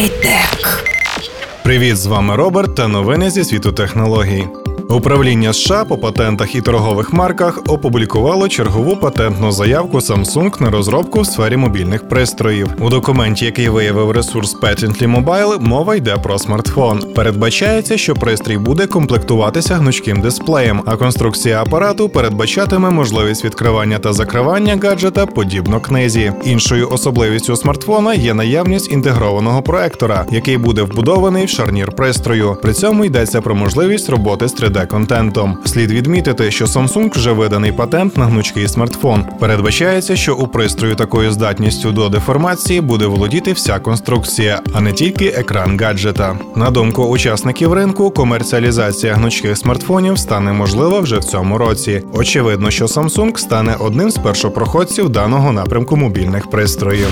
Хай-тек. Привіт, з вами Роберт та новини зі світу технологій. Управління США по патентах і торгових марках опублікувало чергову патентну заявку Samsung на розробку в сфері мобільних пристроїв. У документі, який виявив ресурс Patently Mobile, мова йде про смартфон. Передбачається, що пристрій буде комплектуватися гнучким дисплеєм, а конструкція апарату передбачатиме можливість відкривання та закривання гаджета подібно книзі. Іншою особливістю смартфона є наявність інтегрованого проектора, який буде вбудований в шарнір пристрою. При цьому йдеться про можливість роботи з 3D-контентом. Слід відмітити, що Samsung вже виданий патент на гнучкий смартфон. Передбачається, що у пристрою такою здатністю до деформації буде володіти вся конструкція, а не тільки екран гаджета. На думку учасників ринку, комерціалізація гнучких смартфонів стане можлива вже в цьому році. Очевидно, що Samsung стане одним з першопроходців даного напрямку мобільних пристроїв.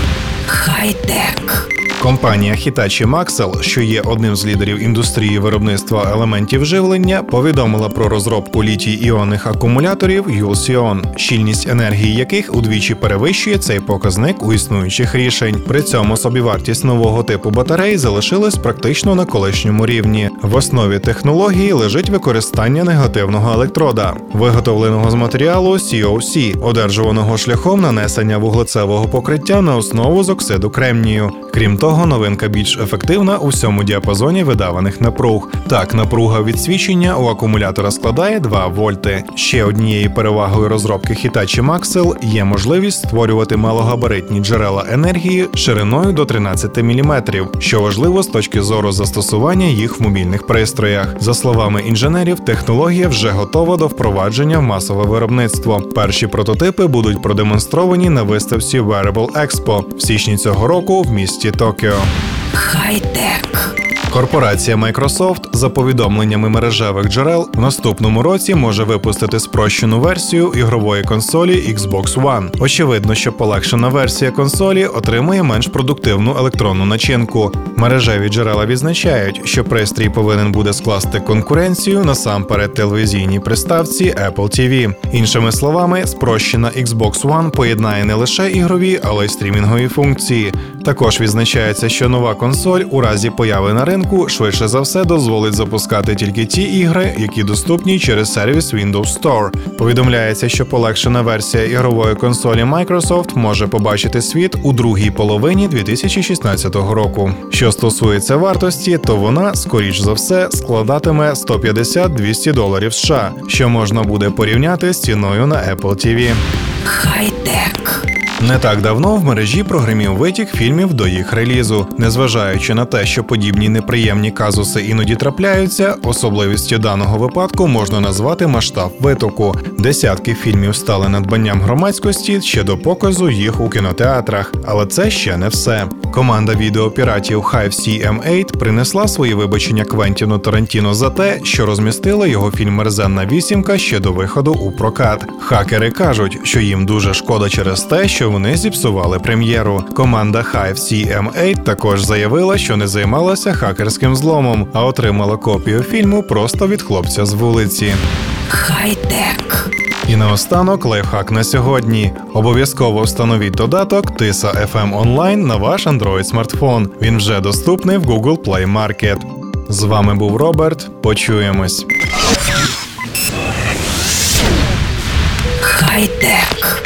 Хай-тек. Компанія Hitachi Maxell, що є одним з лідерів індустрії виробництва елементів живлення, повідомила про розробку літій-іонних акумуляторів Ulsion, щільність енергії яких удвічі перевищує цей показник у існуючих рішень. При цьому собівартість нового типу батарей залишилась практично на колишньому рівні. В основі технології лежить використання негативного електрода, виготовленого з матеріалу COC, одержуваного шляхом нанесення вуглецевого покриття на основу з оксиду кремнію. Крім того, новинка більш ефективна у всьому діапазоні видаваних напруг. Так, напруга від свічення у акумулятора складає 2 вольти. Ще однією перевагою розробки Hitachi Maxell є можливість створювати малогабаритні джерела енергії шириною до 13 мм, що важливо з точки зору застосування їх в мобільних пристроях. За словами інженерів, технологія вже готова до впровадження в масове виробництво. Перші прототипи будуть продемонстровані на виставці Wearable Expo в січні цього року в місті Токіо. Хай-тек. Корпорація Microsoft, за повідомленнями мережевих джерел, в наступному році може випустити спрощену версію ігрової консолі Xbox One. Очевидно, що полегшена версія консолі отримує менш продуктивну електронну начинку. Мережеві джерела відзначають, що пристрій повинен буде скласти конкуренцію насамперед телевізійній приставці Apple TV. Іншими словами, спрощена Xbox One поєднає не лише ігрові, але й стрімінгові функції. Також відзначається, що нова консоль у разі появи на ринку швидше за все дозволить запускати тільки ті ігри, які доступні через сервіс Windows Store. Повідомляється, що полегшена версія ігрової консолі Microsoft може побачити світ у другій половині 2016 року. Що стосується вартості, то вона, скоріш за все, складатиме $150-200 США, що можна буде порівняти з ціною на Apple TV. Хай-тек. Не так давно в мережі прогримів витік фільмів до їх релізу. Незважаючи на те, що подібні неприємні казуси іноді трапляються, особливістю даного випадку можна назвати масштаб витоку. Десятки фільмів стали надбанням громадськості ще до показу їх у кінотеатрах. Але це ще не все. Команда відеопіратів Hive CM8 принесла свої вибачення Квентіну Тарантіно за те, що розмістила його фільм «Мерзенна вісімка» ще до виходу у прокат. Хакери кажуть, що їм дуже шкода через те, що вони зіпсували прем'єру. Команда Hive CM8 також заявила, що не займалася хакерським зломом, а отримала копію фільму просто від хлопця з вулиці. Хай-тек. І наостанок лайфхак на сьогодні. Обов'язково встановіть додаток Tisa FM Online на ваш Android-смартфон. Він вже доступний в Google Play Market. З вами був Роберт. Почуємось. Хай-тек.